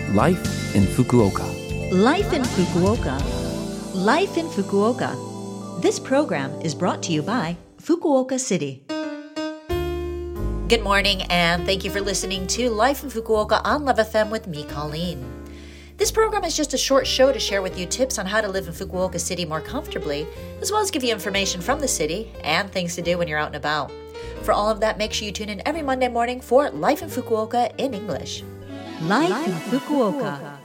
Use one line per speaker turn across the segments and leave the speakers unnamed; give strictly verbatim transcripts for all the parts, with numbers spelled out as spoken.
Life in Fukuoka.
Life in Fukuoka. Life in Fukuoka. This program is brought to you by Fukuoka City. Good morning, and thank you for listening to Life in Fukuoka on Love F M with me, Colleen. This program is just a short show to share with you tips on how to live in Fukuoka City more comfortably, as well as give you information from the city and things to do when you're out and about. For all of that, make sure you tune in every Monday morning for Life in Fukuoka in English. Life, Life in Fukuoka. Fukuoka.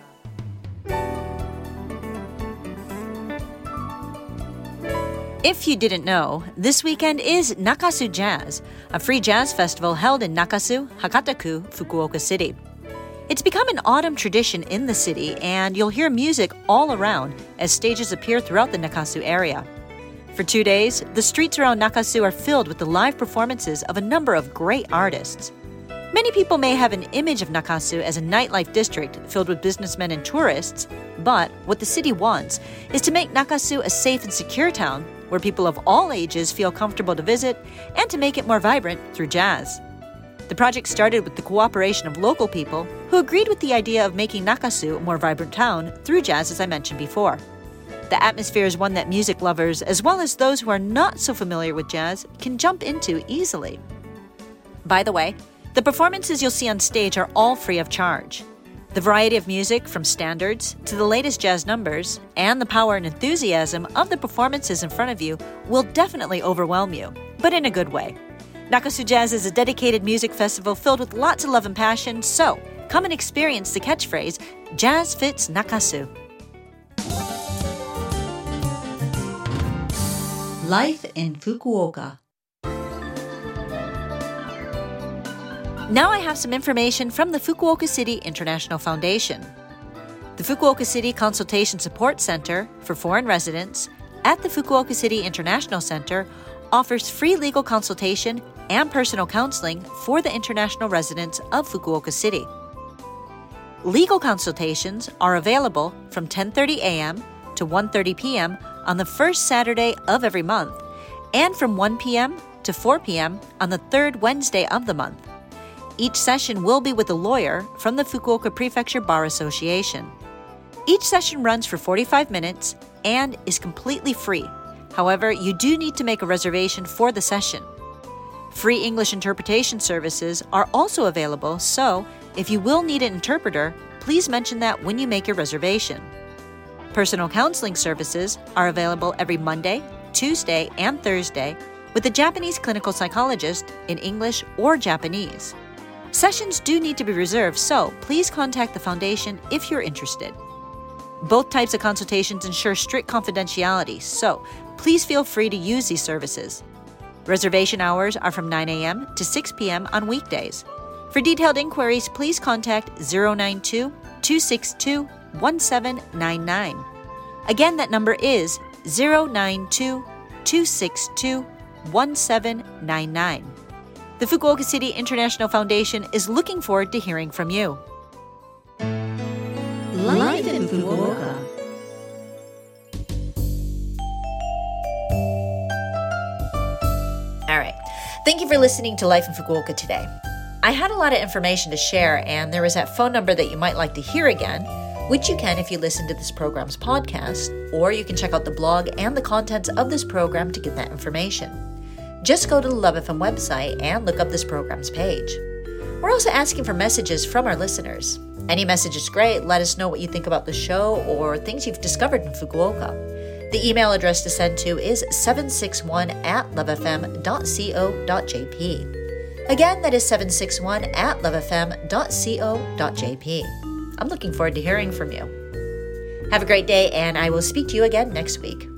If you didn't know, this weekend is Nakasu Jazz, a free jazz festival held in Nakasu, Hakataku, Fukuoka City. It's become an autumn tradition in the city, and you'll hear music all around as stages appear throughout the Nakasu area. For two days, the streets around Nakasu are filled with the live performances of a number of great artists. Many people may have an image of Nakasu as a nightlife district filled with businessmen and tourists, but what the city wants is to make Nakasu a safe and secure town where people of all ages feel comfortable to visit and to make it more vibrant through jazz. The project started with the cooperation of local people who agreed with the idea of making Nakasu a more vibrant town through jazz, as I mentioned before. The atmosphere is one that music lovers, as well as those who are not so familiar with jazz, can jump into easily. By the way, the performances you'll see on stage are all free of charge. The variety of music, from standards to the latest jazz numbers, and the power and enthusiasm of the performances in front of you will definitely overwhelm you, but in a good way. Nakasu Jazz is a dedicated music festival filled with lots of love and passion, so come and experience the catchphrase, Jazz Fits Nakasu. Life in Fukuoka. Now I have some information from the Fukuoka City International Foundation. The Fukuoka City Consultation Support Center for Foreign Residents at the Fukuoka City International Center offers free legal consultation and personal counseling for the international residents of Fukuoka City. Legal consultations are available from ten thirty a.m. to one thirty p.m. on the first Saturday of every month and from one p.m. to four p.m. on the third Wednesday of the month. Each session will be with a lawyer from the Fukuoka Prefecture Bar Association. Each session runs for forty-five minutes and is completely free. However, you do need to make a reservation for the session. Free English interpretation services are also available, so if you will need an interpreter, please mention that when you make your reservation. Personal counseling services are available every Monday, Tuesday, and Thursday with a Japanese clinical psychologist in English or Japanese. Sessions do need to be reserved, so please contact the foundation if you're interested. Both types of consultations ensure strict confidentiality, so please feel free to use these services. Reservation hours are from nine a.m. to six p.m. on weekdays. For detailed inquiries, please contact zero nine two, two six two, one seven nine nine. Again, that number is zero nine two, two six two, one seven nine nine. The Fukuoka City International Foundation is looking forward to hearing from you. Life in Fukuoka. All right. Thank you for listening to Life in Fukuoka today. I had a lot of information to share, and there is that phone number that you might like to hear again, which you can if you listen to this program's podcast, or you can check out the blog and the contents of this program to get that information. Just go to the Love F M website and look up this program's page. We're also asking for messages from our listeners. Any message is great. Let us know what you think about the show or things you've discovered in Fukuoka. The email address to send to is seven six one at love f m dot co dot j p. Again, that is seven six one at love f m dot co dot j p. I'm looking forward to hearing from you. Have a great day, and I will speak to you again next week.